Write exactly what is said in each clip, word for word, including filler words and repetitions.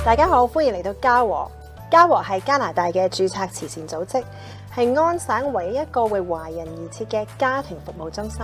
大家好，歡迎嚟到嘉和。嘉和係加拿大嘅註冊慈善組織，係安省唯一一個為華人而設嘅家庭服務中心。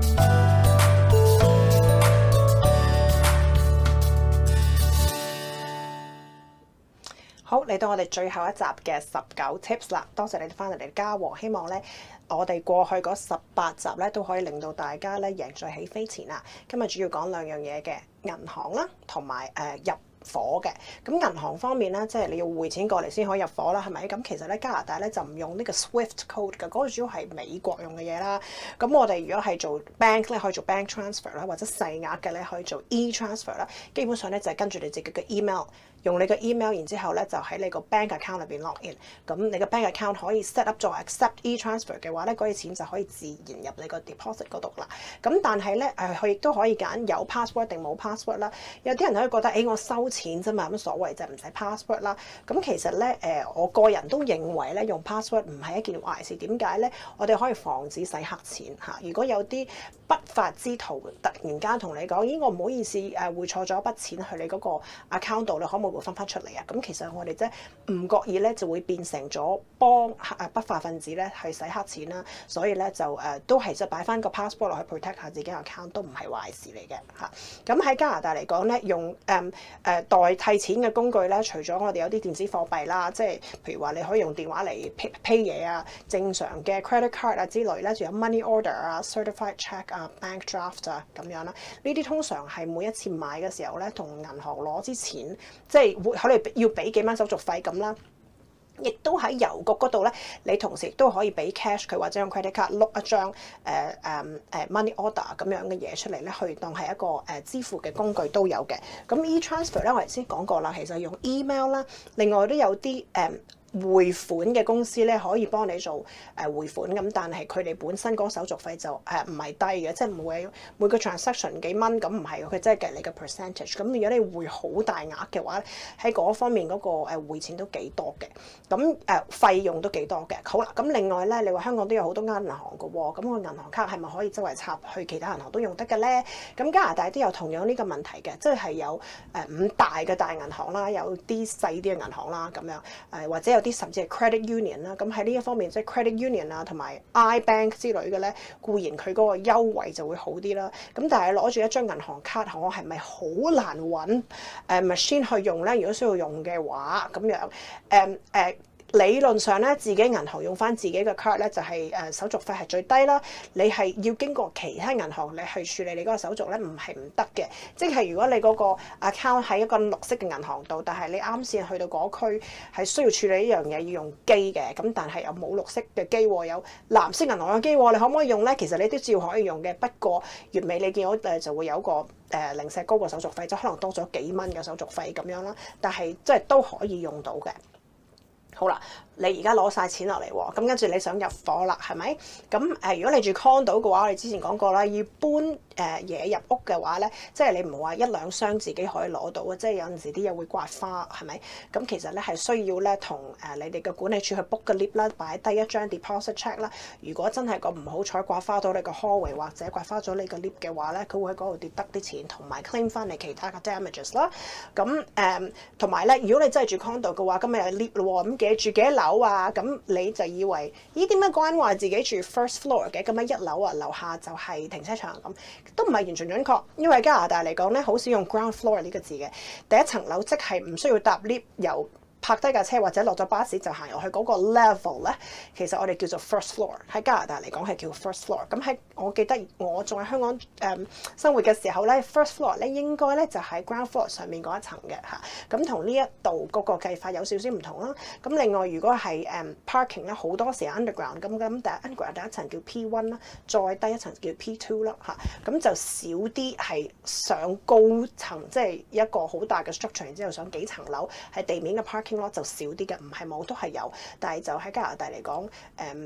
好，嚟到我哋最後一集嘅十九 tips 啦，多謝你哋翻嚟嚟嘉和，希望咧我哋過去嗰十八集咧都可以令到大家咧贏在起飛前啦。今日主要講兩樣嘢嘅，銀行啦，同埋誒入伙嘅。咁銀行方面咧，即係你要匯錢過嚟先可以入伙啦，係咪？咁其實咧加拿大咧就唔用呢個 Swift code 嘅，嗰個主要係美國用嘅嘢啦。咁我哋如果係做 bank 咧，可以做 bank transfer 啦，或者細額嘅咧可以做 e transfer 啦。基本上咧就係跟住你自己嘅 email。用你個 email，然之後咧就喺你個 bank account 裏邊 log in。咁你個 bank account 可以 set up 做 accept e transfer 嘅話咧，嗰啲錢就可以自然入你個 deposit 嗰度啦。咁但係咧誒，佢亦都可以揀有 password 定冇 password 啦。有啲人可以覺得誒、欸，我收錢啫嘛，咁所謂就唔使 password 啦。咁其實咧誒，我個人都認為咧用 password 唔係一件壞事。點解咧？我哋可以防止洗黑錢嚇。如果有啲不法之徒突然間同你講，咦，我唔好意思誒匯錯咗一筆錢去你嗰個 account 度，你可唔可以分翻出嚟啊？咁其實我哋即係唔覺意咧，就會變成咗幫誒不法分子咧去洗黑錢啦。所以咧就誒、呃、都係即係擺翻個 passport 落去 protect 下自己 account 都唔係壞事嚟嘅嚇。咁喺加拿大嚟講咧，用誒誒、嗯呃、代替錢嘅工具咧，除咗我哋有啲電子貨幣啦，即係譬如話你可以用電話嚟 pay pay 嘢啊，正常嘅 credit card 啊之類咧，仲有 money order 啊、certified check 啊、bank draft 啊咁樣啦。呢啲通常係每一次買嘅時候咧，同銀行攞之前即係。會可能要俾幾蚊手續費咁啦，亦都喺郵局嗰度咧，你同時亦都可以俾 cash 佢或者用 credit card 碌一張誒誒誒 money order 咁樣嘅嘢出嚟咧，去當係一個誒支付嘅工具都有嘅。咁 e transfer 咧，我頭先講過啦，其實用 email 啦，另外都有啲誒。嗯匯款嘅公司咧可以幫你做誒匯款咁，但係佢哋本身嗰個手續費就誒唔係低嘅，即係每每個 transaction 幾蚊咁，唔係佢真係計你嘅 percentage。咁如果你匯好大額嘅話，喺嗰方面嗰個誒匯錢都幾多嘅，咁誒費用都幾多嘅。好啦，咁另外咧，你話香港都有好多間銀行嘅喎，咁個銀行卡係咪可以周圍插去其他銀行都用得嘅咧？咁加拿大都有同樣呢個問題嘅，即係有誒五大嘅大銀行啦，有啲細啲嘅銀行啦，咁樣誒或者有啲甚至係 credit union 啦，咁喺呢一方面即係 credit union 啊同埋 iBank 之類嘅咧，固然佢嗰個優惠就會好啲啦。咁但係攞住一張銀行卡，我係咪好難揾誒 machine 去用咧？如果需要用嘅話，咁樣誒誒。呃呃理論上咧，自己銀行用翻自己嘅 card 咧，就係誒手續費係最低啦。你係要經過其他銀行你去處理你嗰個手續咧，唔係唔得嘅。即係如果你嗰個 account 喺一個綠色嘅銀行度，但係你啱先去到嗰區係需要處理呢樣嘢要用機嘅，咁但係又冇綠色嘅機喎，有藍色銀行嘅機喎，你可唔可以用咧？其實你都照可以用嘅，不過月尾你見到誒就會有個誒零舍高個手續費，即可能多咗幾蚊嘅手續費咁樣啦。但係即係都可以用到嘅。好啦，你而家攞晒錢落嚟喎，咁跟住你想入伙啦，係咪？咁誒，如果你住 condo 嘅話，我哋之前講過啦，要搬誒嘢入屋嘅話咧，即係你唔係話一兩箱自己可以攞到嘅，即係有陣時啲嘢會刮花，係咪？咁其實咧係需要咧同誒你哋嘅管理處去 book 個 lift 啦，擺低一張 deposit check 啦。如果真係個唔好彩刮花到你個 hallway 或者刮花咗你個 lift 嘅話咧，佢會喺嗰度跌得啲錢，同埋 claim 翻你其他嘅 damages 啦。咁誒同埋咧，如果你真係住 condo 嘅話，今日有 lift 咯喎，咁幾住幾多樓啊？咁你就以為咦點解關話自己住 first floor 嘅？咁樣一樓啊，樓下就係停車場咁，都唔係完全準確。因為加拿大嚟講咧，好少用 ground floor 呢個字嘅，第一層樓即係唔需要搭 lift 由泊低架車或者落咗巴士就行入去嗰個 level 咧，其實我哋叫做 first floor。喺加拿大嚟講係叫 first floor。咁喺我記得我仲喺香港誒、嗯、生活嘅時候咧 ，first floor 咧應該咧就喺 ground floor 上面嗰一層嘅嚇。咁同呢一度嗰個計法有少少唔同啦。咁另外如果係誒、um, parking 咧，好多時 underground 咁咁，第一 underground 第一層叫 P one 啦，再低一層叫 P two 啦嚇。咁就少啲係上高層，即係一個好大嘅 structure，然之後上幾層樓係地面嘅 parking。就少啲嘅，唔係冇都係有，但係就喺加拿大嚟講，誒、嗯、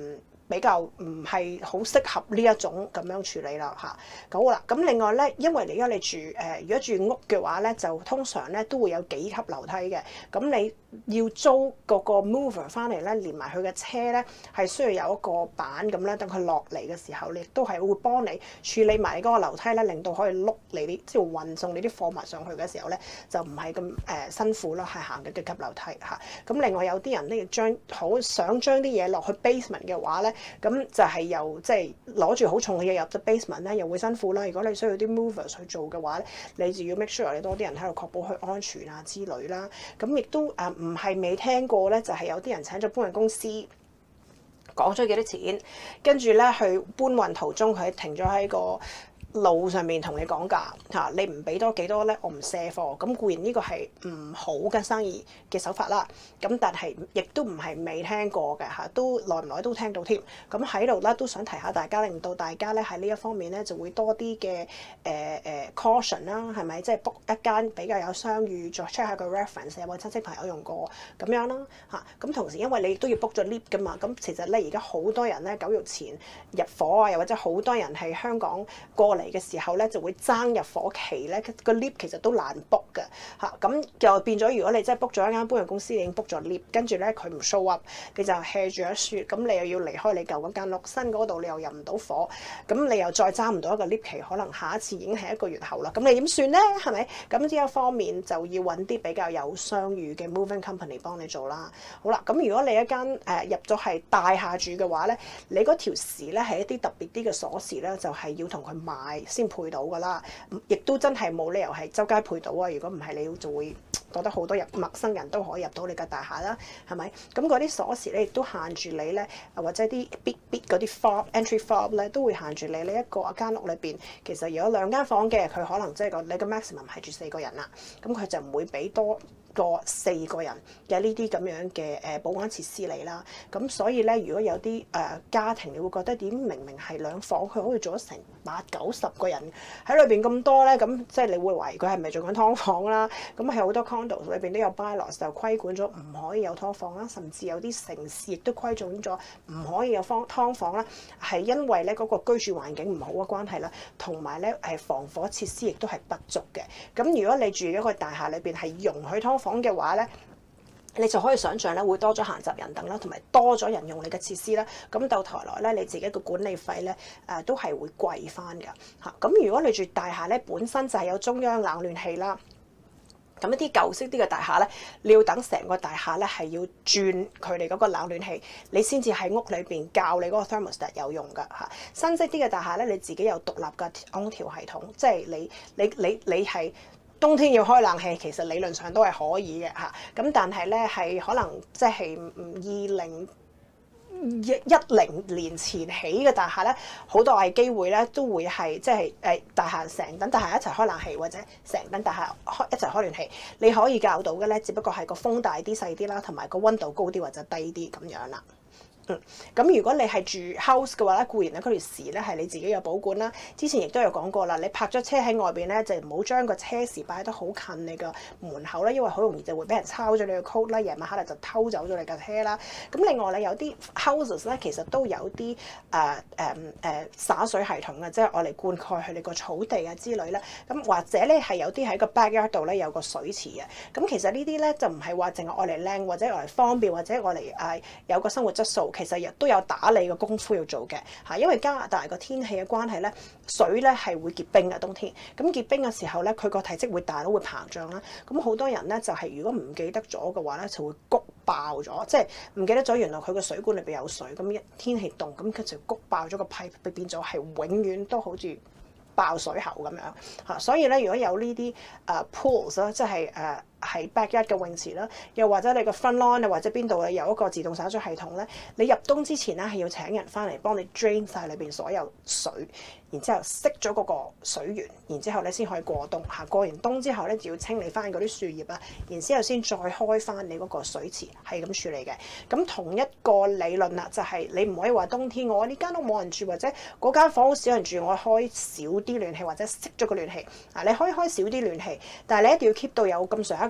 比較唔係好適合呢一種咁樣處理啦嚇。好啦，咁另外咧，因為你而家你住誒、呃，如果住屋嘅話咧，就通常咧都會有幾級樓梯嘅。咁你要租嗰個 mover 翻嚟咧，連埋佢嘅車咧，係需要有一個板咁咧，等佢落嚟嘅時候，你亦都係會幫你處理埋嗰個樓梯咧，令到可以碌你啲即係運送你啲貨物上去嘅時候咧，就唔係咁誒辛苦啦，係行嘅幾級樓梯嚇。咁另外有啲人咧，要將好想將啲嘢落去 basement 嘅話咧，咁就係由即係攞住好重嘅嘢入咗 basement 咧，又會辛苦啦。如果你需要啲 movers 去做嘅話咧，你就要 make sure 你多啲人喺度確保佢安全啊之類啦。咁亦都誒唔係未聽過咧，就係、是、有啲人請咗搬運公司講咗幾多錢，跟住咧去搬運途中佢停咗喺個路上面同你講價嚇，你唔俾多幾多咧，我唔卸貨。咁固然呢個係唔好嘅生意嘅手法啦。咁但係亦都唔係未聽過嘅嚇，都耐唔耐都聽到添。咁喺度咧都想提下大家，令到大家咧喺呢一方面咧就會多啲嘅誒誒 caution 啦，係咪？即係 book 一間比較有商譽，再 check 下個 reference 有冇親戚朋友用過咁樣啦嚇。咁同時因為你都要 book 咗 lift 噶嘛，咁其實咧而家好多人咧九月前入伙啊，又或者好多人係香港過嚟嚟嘅時候咧，就會爭入伙期咧，個 lift 其實都難 book 嘅嚇，咁就變咗如果你真係 book 咗一間搬運公司，你已經 book 咗 lift，跟住咧佢唔 show up，你就 hea 住一雪，咁你又要離開你舊嗰間屋，新嗰度你又入唔到伙，咁你又再爭唔到一個 lift 期，可能下一次已經係一個月後啦，咁你點算咧？係咪？咁呢一方面就要揾啲比較有商譽嘅 moving company 幫你做啦。好啦，咁如果你一間誒、呃、入咗係大廈住嘅話咧，你嗰條匙咧係一啲特別啲嘅鎖匙咧，就係、是、要同佢買先配到噶啦，亦都真係冇理由係周街配到啊！如果唔係，你就會覺得好多人陌生人都可以入到你嘅大廈啦，係咪？咁嗰啲鎖匙咧亦都限住你咧，或者啲 big big 嗰啲 fob entry fob 咧都會限住你呢一個間屋裏邊。其實如果兩間房嘅，佢可能即係個你嘅 maximum 係住四個人啦，咁佢就唔會俾多個四個人嘅呢啲咁樣嘅誒保安設施嚟啦。咁所以咧，如果有啲誒、呃、家庭，你會覺得點明明係兩房，佢可以做咗成八九十個人喺裏邊咁多咧，咁即係你會懷疑佢係咪做緊劏房啦？咁係好多 condos 裏邊都有 bylaws 就規管咗唔可以有劏房啦，甚至有啲城市亦都規準咗唔可以有劏劏房啦，係因為咧嗰、那個居住環境唔好嘅關係啦，同埋咧係防火設施亦都係不足嘅。咁如果你住一個大廈裏邊係容許劏房嘅話咧，你就可以想象咧會多咗閒雜人等啦，同埋多咗人用你嘅設施啦。咁到頭來咧，你自己嘅管理費咧誒、呃、都係會貴翻㗎嚇。咁如果你住大廈咧，本身就係有中央冷暖氣啦。咁一啲舊式啲嘅大廈咧，你要等成個大廈咧係要轉佢哋嗰個冷暖氣，你先至喺屋裏邊校你嗰個 thermostat 有用㗎嚇。新式啲嘅大廈咧，你自己有獨立嘅空調系統，即係你你你你係。冬天要開冷氣，其實理論上都係可以嘅嚇。咁但係咧係可能即係二零一一零年前起嘅大廈咧，好大機會咧都會係即係誒大廈成棟大廈一齊開冷氣，或者成棟大廈開一齊開暖氣。你可以校到嘅咧，只不過係個風大啲細啲啦，同埋個溫度高啲或者低啲咁樣啦。嗯，咁如果你係住 house 嘅話咧，固然咧嗰條匙咧係你自己有保管啦。之前亦都有講過啦，你泊咗車喺外邊咧，就唔好將個車匙擺得好近你個門口啦，因為好容易就會俾人抄咗你個 code 啦，夜晚黑咧就偷走咗你架車啦。咁另外咧有啲 houses 咧其實都有啲誒誒誒灑水系統嘅，即係我嚟灌溉佢哋個草地啊之類咧。咁或者咧係有啲喺個 backyard 度咧有個水池嘅。咁其實呢啲咧就唔係話淨係愛嚟靚，或者愛嚟方便，或者愛嚟誒有個生活質素。其實亦都有打理嘅功夫要做嘅嚇，因為加拿大個天氣嘅關係咧，水咧係會結冰嘅冬天。咁結冰嘅時候咧，佢個體積會大到會膨脹啦。咁好多人咧就係、是、如果唔記得咗嘅話咧，就會谷爆咗，即係唔記得咗原來佢個水管裏邊有水。咁一天氣凍，咁佢就谷爆咗個 pipe，變咗係永遠都好似爆水喉咁樣嚇。所以咧，如果有呢啲誒 pools 啦，即係誒。係 backyard 嘅泳池啦，又或者你個 front lawn 啊，或者邊度咧有一個自動灑水系統咧，你入冬之前咧係要請人翻嚟幫你 drain 晒裏邊所有水，然之後熄咗嗰個水源，然之後咧先可以過冬嚇。過完冬之後咧就要清理翻嗰啲樹葉啊，然之後先再開翻你嗰個水池，係咁處理嘅。咁同一個理論啦，就係、是、你唔可以話冬天我呢間屋冇人住，或者嗰間房好少人住，我開少啲暖氣或者熄咗個暖氣啊。你可以開少啲暖氣，但係你一定要 keep 到有咁上下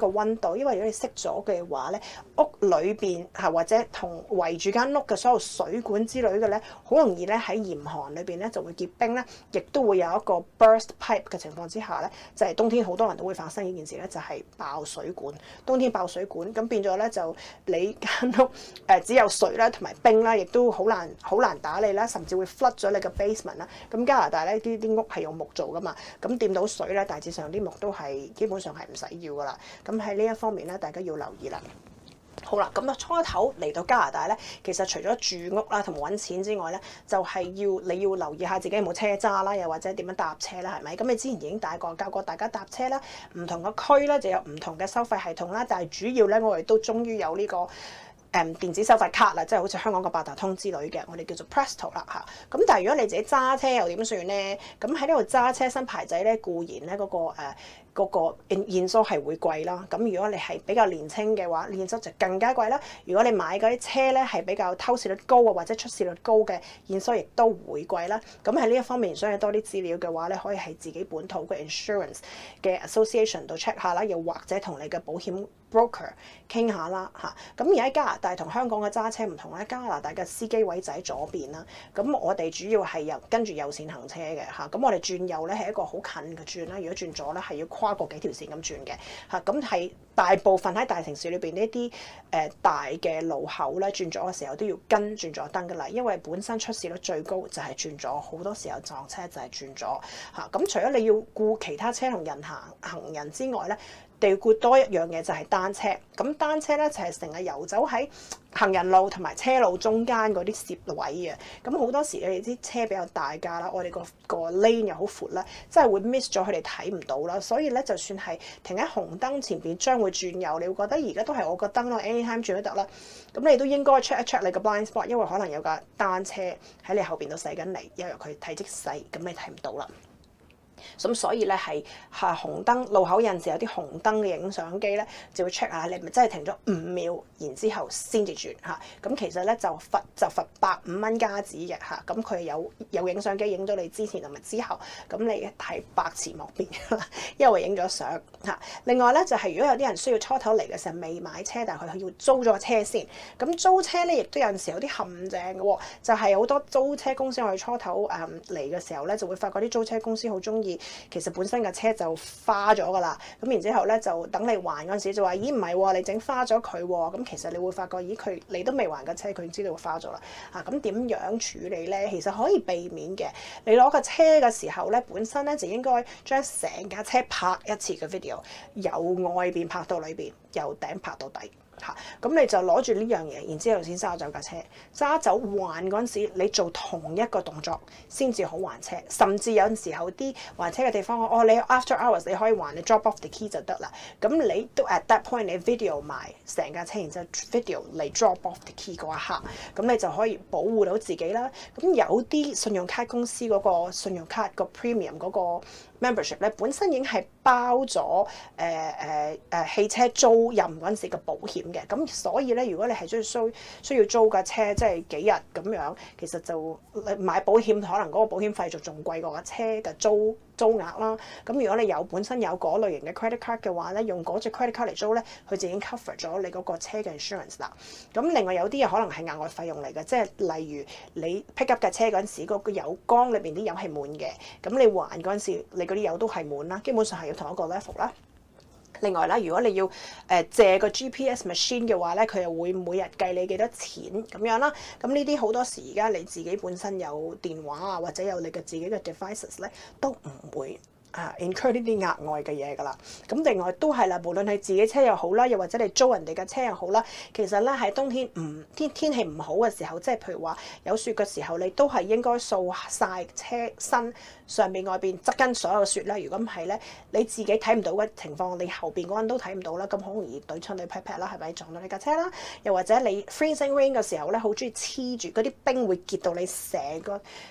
個溫度，因為如果你熄咗嘅話咧，屋裏邊嚇或者同圍住間屋嘅所有水管之類嘅咧，好容易咧喺嚴寒裏邊咧就會結冰咧，亦都會有一個 burst pipe 嘅情況之下咧，就係、是、冬天好多人都會發生呢件事咧，就係、是、爆水管。冬天爆水管，咁變咗咧就你間屋誒、呃、只有水啦同埋冰啦，亦都好難好難打理啦，甚至會 flood 咗你個 basement 啦。咁加拿大咧啲啲屋係用木做噶嘛，咁掂到水咧，大致上啲木都係基本上係唔使要噶啦。咁喺呢一方面咧，大家要留意啦。好啦，咁啊初頭嚟到加拿大咧，其實除咗住屋啦同揾錢之外咧，就係、是、要你要留意下自己有冇車揸啦，又或者點樣搭車啦，係咪？咁你之前已經大個教過大家搭車啦，唔同嘅區咧就有唔同嘅收費系統啦，但係主要咧我哋都終於有呢、這個。誒電子收費卡啦，即係好似香港嘅八達通之類嘅，我哋叫做 Presto 啦嚇。咁但係如果你自己揸車又點算咧？咁喺呢度揸車新牌仔咧，固然咧嗰、那個誒嗰、呃那個驗收係會貴啦。咁如果你係比較年輕嘅話，驗收就更加貴啦。如果你買嗰啲車咧係比較偷竊率高啊或者出事率高嘅，驗收亦都會貴啦。咁喺呢一方面想有多啲資料嘅話咧，可以喺自己本土嘅 insurance 嘅 association 度 check 下啦，又或者同你嘅保險 broker 傾下啦嚇，咁而喺加拿大同香港嘅揸車唔同咧，加拿大嘅司機位就喺左邊啦，咁我哋主要係由跟住右線行車嘅嚇，咁我哋轉右咧係一個好近嘅轉啦，如果轉左咧係要跨過幾條線咁轉嘅嚇，咁係大部分喺大城市裏邊呢啲誒大嘅路口咧轉左嘅時候都要跟轉左燈噶啦，因為本身出事率最高就係轉左，好多時候撞車就係轉左嚇，咁除咗你要顧其他車同人行行人之外咧，地顧多一樣嘢就係單車，咁單車咧就係成日遊走喺行人路同埋車路中間嗰啲攝位嘅，咁好多時你哋啲車比較大架啦，我哋個個 lane 又好闊啦，真係會 miss 咗佢哋睇唔到啦，所以咧就算係停喺紅燈前邊將會轉右，你會覺得而家都係我個燈咯 ，anytime 轉都得啦，咁你都應該 check 一 check 你個 blind spot，因為可能有架單車喺你後邊都駛緊嚟，因為佢體積細，咁你睇唔到啦。咁所以咧係嚇紅燈路口有陣時有啲紅燈嘅影相機咧，就會 check 下你係咪真係停咗五秒，然之後先至轉嚇。咁其實咧就罰就罰百五蚊加紙嘅嚇。咁佢有有影相機影咗你之前同埋之後，咁你係百詞莫辯啦，因為影咗相嚇。另外咧就係、是、如果有啲人需要初頭嚟嘅時候未買車，但係佢要租咗車先。咁租車咧亦都有陣時有啲陷阱嘅喎，就係、是、好多租車公司我哋初頭誒嚟嘅時候咧，就會發覺啲租車公司好中意。其實本身架車就花咗㗎啦，咁然之後咧就等你還嗰陣時就話：咦唔係喎，你整花咗佢喎。咁其實你會發覺，咦佢你都未還架車，佢已經知道花咗啦。啊咁點樣處理咧？其實可以避免嘅。你攞架車嘅時候咧，本身咧就應該將成架車拍一次嘅 video，由外邊拍到裏邊，由頂拍到底。嚇，咁你就攞住呢樣嘢，然之後先揸走架車。揸走還嗰陣時，你做同一個動作先至好還車。甚至有陣時候啲還車嘅地方，哦，你 after hours 你可以還，你 drop off the key 就得啦。咁你都 at that point 你 video 埋成架車，然之後 video 嚟 drop off the key 嗰一刻，咁你就可以保護到自己啦。咁有啲信用卡公司嗰個信用卡個 premium 嗰個 membership 咧，本身已經係包咗誒誒誒汽車租賃嗰陣時嘅保險嘅，咁所以咧，如果你係需需需要租架車，即係幾日咁樣，其實就買保險可能嗰個保險費就仲貴過架車嘅租租額啦。咁如果你有本身有嗰類型嘅 credit card 嘅話咧，用嗰隻 credit card 嚟租咧，佢就已經 cover 咗你嗰個車嘅 insurance 啦。咁另外有啲嘢可能係額外費用嚟嘅，即係例如你 pick up 架車嗰陣時，嗰個油缸裏邊啲油係滿嘅，咁你還嗰陣時，你嗰啲油都係滿啦，基本上係要同一個 level 啦。另外啦，如果你要誒借個 G P S machine 嘅話咧，佢又會每日計你幾多錢咁樣啦。咁呢啲好多時而家你自己本身有電話啊，或者有你嘅自己嘅 devices 咧，都唔會啊 incur 呢啲額外嘅嘢㗎啦。咁另外都係啦，無論係自己車又好啦，又或者你租人哋嘅車又好啦，其實咧喺冬天唔天天氣唔好嘅時候，即係譬如話有雪嘅時候，你都係應該掃晒車身上面外邊側跟所有雪啦。如果唔係咧，你自己睇唔到嘅情況，你後邊嗰人都睇唔到啦，咁好容易對親你 pat pat 啦，係咪撞到你架車啦？又或者你 freezing rain 嘅時候咧，好中意黐住嗰啲冰會結到你成個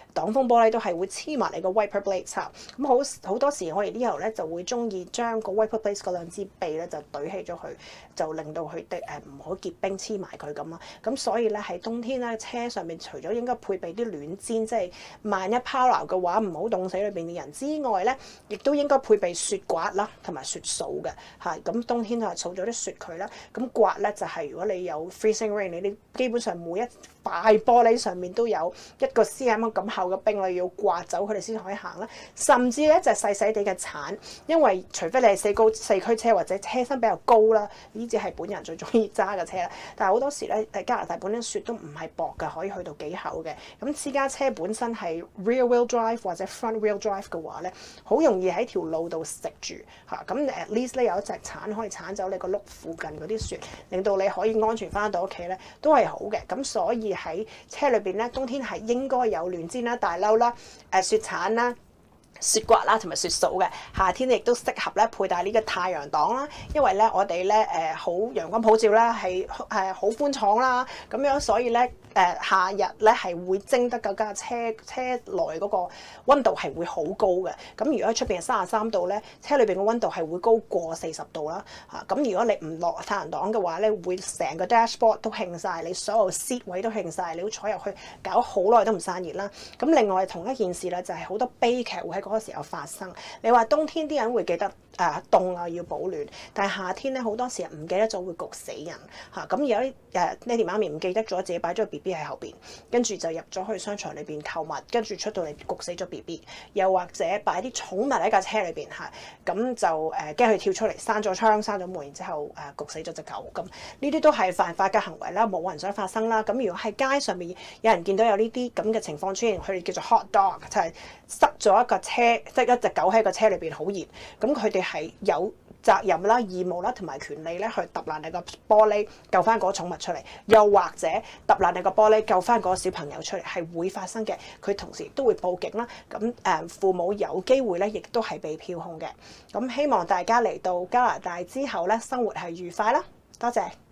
擋風玻璃都係會黐埋你個 wiper blade 插。咁好好多時我哋呢度咧就會中意將個 wiper blade 嗰兩支臂咧就懟起咗佢，就令到佢哋誒唔好結冰黐埋佢咁啦。咁所以咧喺冬天咧車上面除咗應該配備啲暖氈，即係萬一拋錨嘅話唔好凍死裏邊嘅人之外咧，亦都應該配備雪刮啦同埋雪掃嘅嚇。咁冬天就係掃咗啲雪佢啦。咁刮咧就係、是、如果你有 freezing rain，你啲基本上每一塊玻璃上面都有一個 cm 咁厚嘅冰，你要刮走佢哋先可以行啦。甚至咧就係、細細地嘅鏟，因為除非你係四高四驅車或者車身比較高啦，呢隻係本人最中意揸嘅車啦。但係好多時咧，誒加拿大本身雪都唔係薄嘅，可以去到幾厚嘅。咁私家車本身係 rear wheel drive 或者 front wheel drive 嘅話咧，好容易喺條路度食住嚇。咁 at least 咧有一隻鏟可以鏟走你個轆附近嗰啲雪，令到你可以安全翻到屋企咧，都係好嘅。咁所以喺車裏邊咧，冬天係應該有暖氈啦、大褸啦、誒雪鏟啦、雪刮啦同埋雪掃嘅。夏天亦都適合咧佩戴呢個太陽擋啦，因為咧我哋咧誒好陽光普照啦，係係好寬敞啦，咁樣所以咧。誒、呃、夏日咧係會蒸得嗰架車車內嗰個溫度係會好高嘅。咁如果喺出邊係三十三度咧，車裏邊嘅溫度係會高過四十度啦。嚇、啊、咁如果你唔落太陽擋嘅話咧，會成個 dashboard 都興晒，你所有 seat 位都興晒，你要坐入去搞好耐都唔散熱啦。咁另外同一件事咧，就係、是、好多悲劇會喺嗰個時候發生。你話冬天啲人會記得誒凍啊要保暖，但係夏天咧好多時唔記得咗會焗死人嚇。咁、啊、有啲誒爹哋媽咪唔記得咗自己擺咗個 B B 喺後邊，跟住就入咗去商場裏邊購物，跟住出到嚟焗死咗 B B， 又或者擺啲寵物喺架車裏邊嚇，咁就誒驚佢跳出嚟，閂咗窗、閂咗門，然之後誒、呃、焗死咗隻狗。咁呢啲都係犯法嘅行為啦，冇人想發生啦。咁如果喺街上面有人見到有呢啲咁嘅情況出現，佢哋叫做 hot dog，就係塞咗一個車，即係一隻狗喺個車裏邊好熱，咁佢哋係有責任啦、義務啦同埋權利咧去揼爛你個玻璃救翻嗰個寵物出嚟，又或者揼爛你個玻璃救翻嗰個小朋友出嚟，係會發生嘅。佢同時亦都會報警啦。咁誒父母有機會咧，亦都係被票控嘅。咁希望大家嚟到加拿大之後咧，生活係愉快啦。多謝。